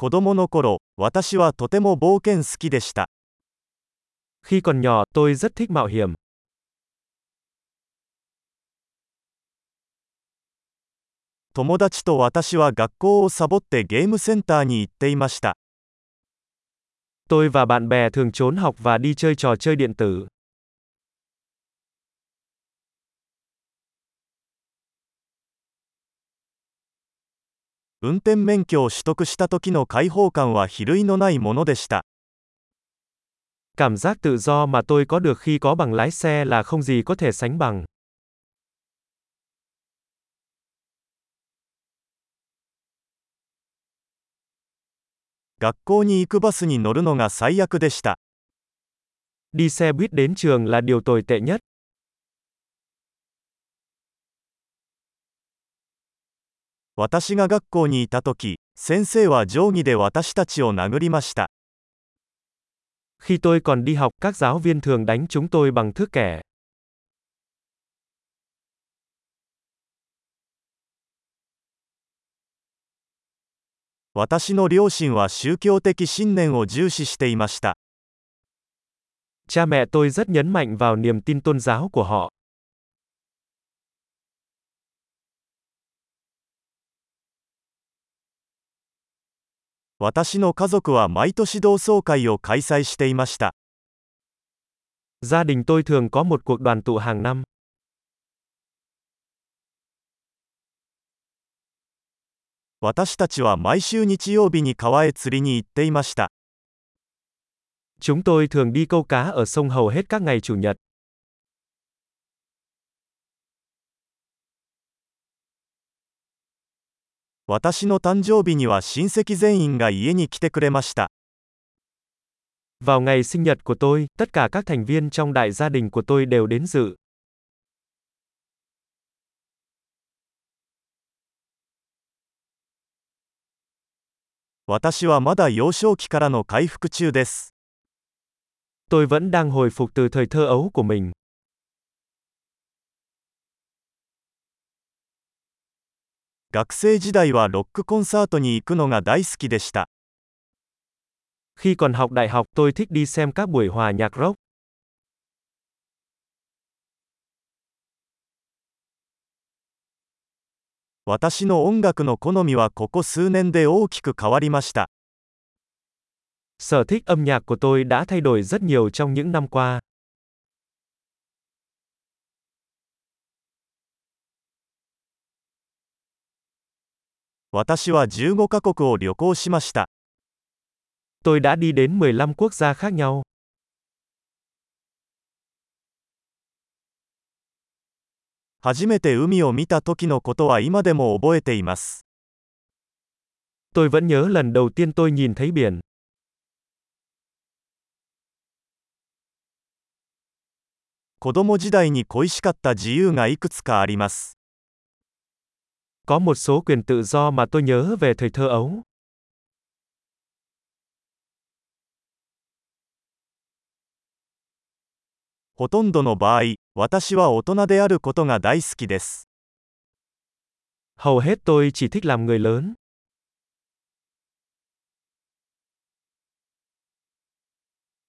子供の頃、私はとても冒険好きでした。 Khi còn nhỏ, tôi rất thích mạo hiểm. 友達と私は学校をサボってゲームセンターに行っていました。 Tôi và bạn bè thường trốn học và đi chơi trò chơi điện tử. 運転免許を取得した時の解放感は比類のないものでした。 Cảm giác tự do mà tôi có được khi có bằng lái xe là không gì có thể sánh bằng. 学校に行くバスに乗るのが最悪でした。 Đi xe buýt đến trường là điều tồi tệ nhất. 私が学校にいた時、先生は定規で私たちを殴りました。 Khi tôi còn đi học, các giáo viên thường đánh chúng tôi bằng thước kẻ. 私の両親は宗教的信念を重視していました。 Cha mẹ tôi rất nhấn mạnh vào niềm tin tôn giáo của họ. 私の家族は毎年同窓会を開催していました。 Gia đình tôi thường có một cuộc đoàn tụ hàng năm. 私たちは毎週日曜日に川へ釣りに行っていました。 Chúng tôi thường đi câu cá ở sông hầu hết các ngày chủ nhật. 私の誕生日には親戚全員が家に来てくれました。 Vào ngày sinh nhật của tôi, tất cả các thành viên trong đại gia đình của tôi đều đến dự. 私はまだ幼少期からの回復中です。 Tôi vẫn đang hồi phục từ thời thơ ấu của mình. 学生時代はロックコンサートに行くのが大好きでした。 Khi còn học đại học, tôi thích đi xem các buổi hòa nhạc rock. 私の音楽の好みはここ数年で大きく変わりました。 Sở thích âm nhạc của tôi đã thay đổi rất nhiều trong những năm qua. 私は15カ国を旅行しました。 Tôi đã đi đến 15 quốc gia khác nhau. 初めて海を見た時のことは今でも覚えています。 Tôi vẫn nhớ lần đầu tiên tôi nhìn thấy biển. 子供時代に恋しかった自由がいくつかあります。 Có một số quyền tự do mà tôi nhớ về thời thơ ấu. ほとんどの場合、私は大人であることが大好きです。 Hầu hết tôi chỉ thích làm người lớn.